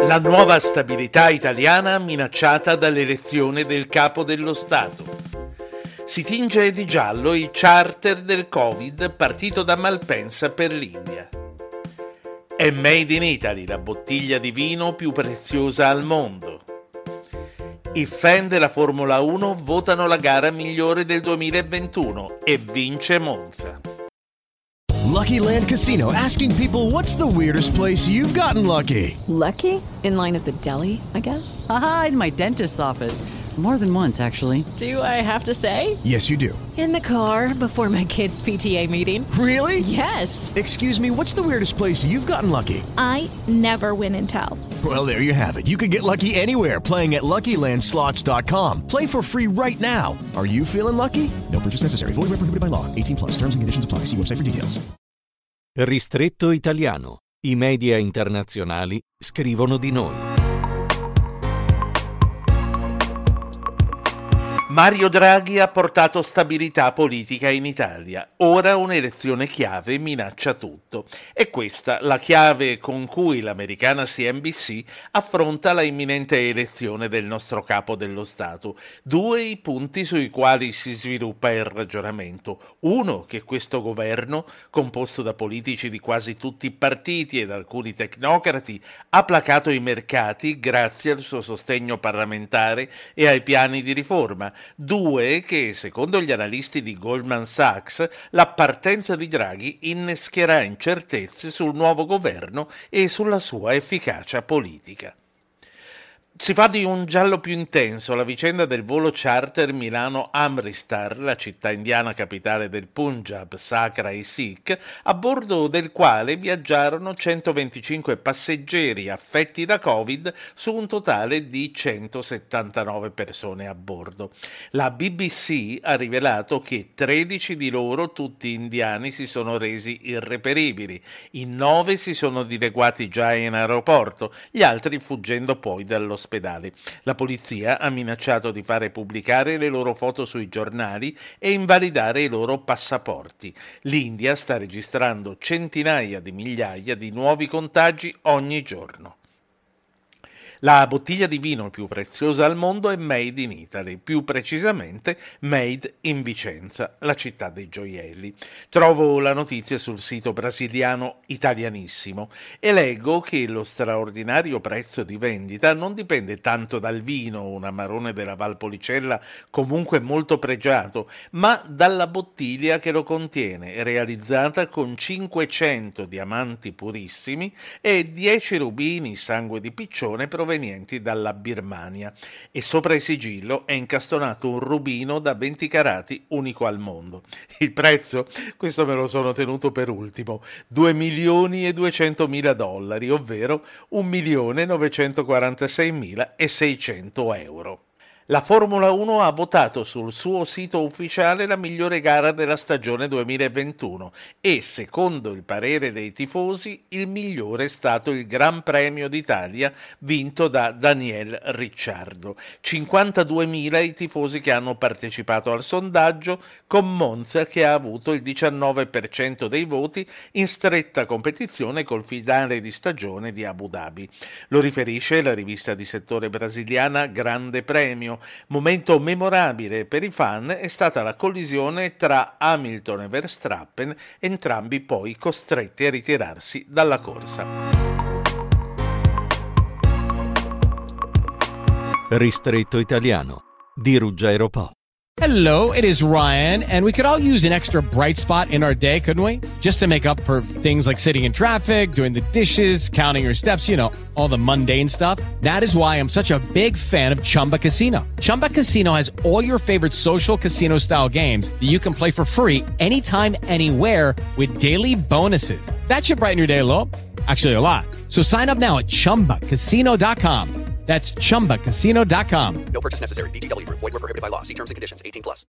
La nuova stabilità italiana minacciata dall'elezione del capo dello Stato. Si tinge di giallo il charter del Covid partito da Malpensa per l'India. È Made in Italy la bottiglia di vino più preziosa al mondo. I fan della Formula 1 votano la gara migliore del 2021 e vince Monza. Lucky Land Casino, asking people, what's the weirdest place you've gotten lucky? Lucky? In line at the deli, I guess? Aha, in my dentist's office. More than once, actually. Do I have to say? Yes, you do. In the car before my kids' PTA meeting. Really? Yes. Excuse me, what's the weirdest place you've gotten lucky? I never win and tell. Well, there you have it. You can get lucky anywhere, playing at LuckyLandSlots.com. Play for free right now. Are you feeling lucky? No purchase necessary. Void where prohibited by law. 18+. Terms and conditions apply. See website for details. Ristretto italiano. I media internazionali scrivono di noi. Mario Draghi ha portato stabilità politica in Italia. Ora un'elezione chiave minaccia tutto. È questa la chiave con cui l'americana CNBC affronta la imminente elezione del nostro capo dello Stato. Due i punti sui quali si sviluppa il ragionamento. Uno, che questo governo, composto da politici di quasi tutti i partiti ed alcuni tecnocrati, ha placato i mercati grazie al suo sostegno parlamentare e ai piani di riforma. Due, che secondo gli analisti di Goldman Sachs la partenza di Draghi innescherà incertezze sul nuovo governo e sulla sua efficacia politica. Si fa di un giallo più intenso la vicenda del volo charter Milano-Amritsar, la città indiana capitale del Punjab, sacra ai Sikh, a bordo del quale viaggiarono 125 passeggeri affetti da Covid su un totale di 179 persone a bordo. La BBC ha rivelato che 13 di loro, tutti indiani, si sono resi irreperibili. In 9 si sono dileguati già in aeroporto, gli altri fuggendo poi dall'ospedale. La polizia ha minacciato di fare pubblicare le loro foto sui giornali e invalidare i loro passaporti. L'India sta registrando centinaia di migliaia di nuovi contagi ogni giorno. La bottiglia di vino più preziosa al mondo è Made in Italy, più precisamente Made in Vicenza, la città dei gioielli. Trovo la notizia sul sito brasiliano Italianissimo e leggo che lo straordinario prezzo di vendita non dipende tanto dal vino, un amarone della Valpolicella comunque molto pregiato, ma dalla bottiglia che lo contiene, realizzata con 500 diamanti purissimi e 10 rubini sangue di piccione provenienti dalla Birmania, e sopra il sigillo è incastonato un rubino da 20 carati unico al mondo. Il prezzo? Questo me lo sono tenuto per ultimo, $2.200.000, ovvero €1.946.600. La Formula 1 ha votato sul suo sito ufficiale la migliore gara della stagione 2021 e, secondo il parere dei tifosi, il migliore è stato il Gran Premio d'Italia vinto da Daniel Ricciardo. 52.000 i tifosi che hanno partecipato al sondaggio, con Monza che ha avuto il 19% dei voti in stretta competizione col finale di stagione di Abu Dhabi. Lo riferisce la rivista di settore brasiliana Grande Premio. Momento memorabile per i fan è stata la collisione tra Hamilton e Verstappen, entrambi poi costretti a ritirarsi dalla corsa. Ristretto italiano di Ruggero Po. Hello, it is Ryan, and we could all use an extra bright spot in our day, couldn't we? Just to make up for things like sitting in traffic, doing the dishes, counting your steps, you know, all the mundane stuff. That is why I'm such a big fan of Chumba Casino. Chumba Casino has all your favorite social casino-style games that you can play for free anytime, anywhere with daily bonuses. That should brighten your day a little. Actually, a lot. So sign up now at ChumbaCasino.com. That's ChumbaCasino.com. No purchase necessary. VGW Group. Void where prohibited by law. See terms and conditions. 18+.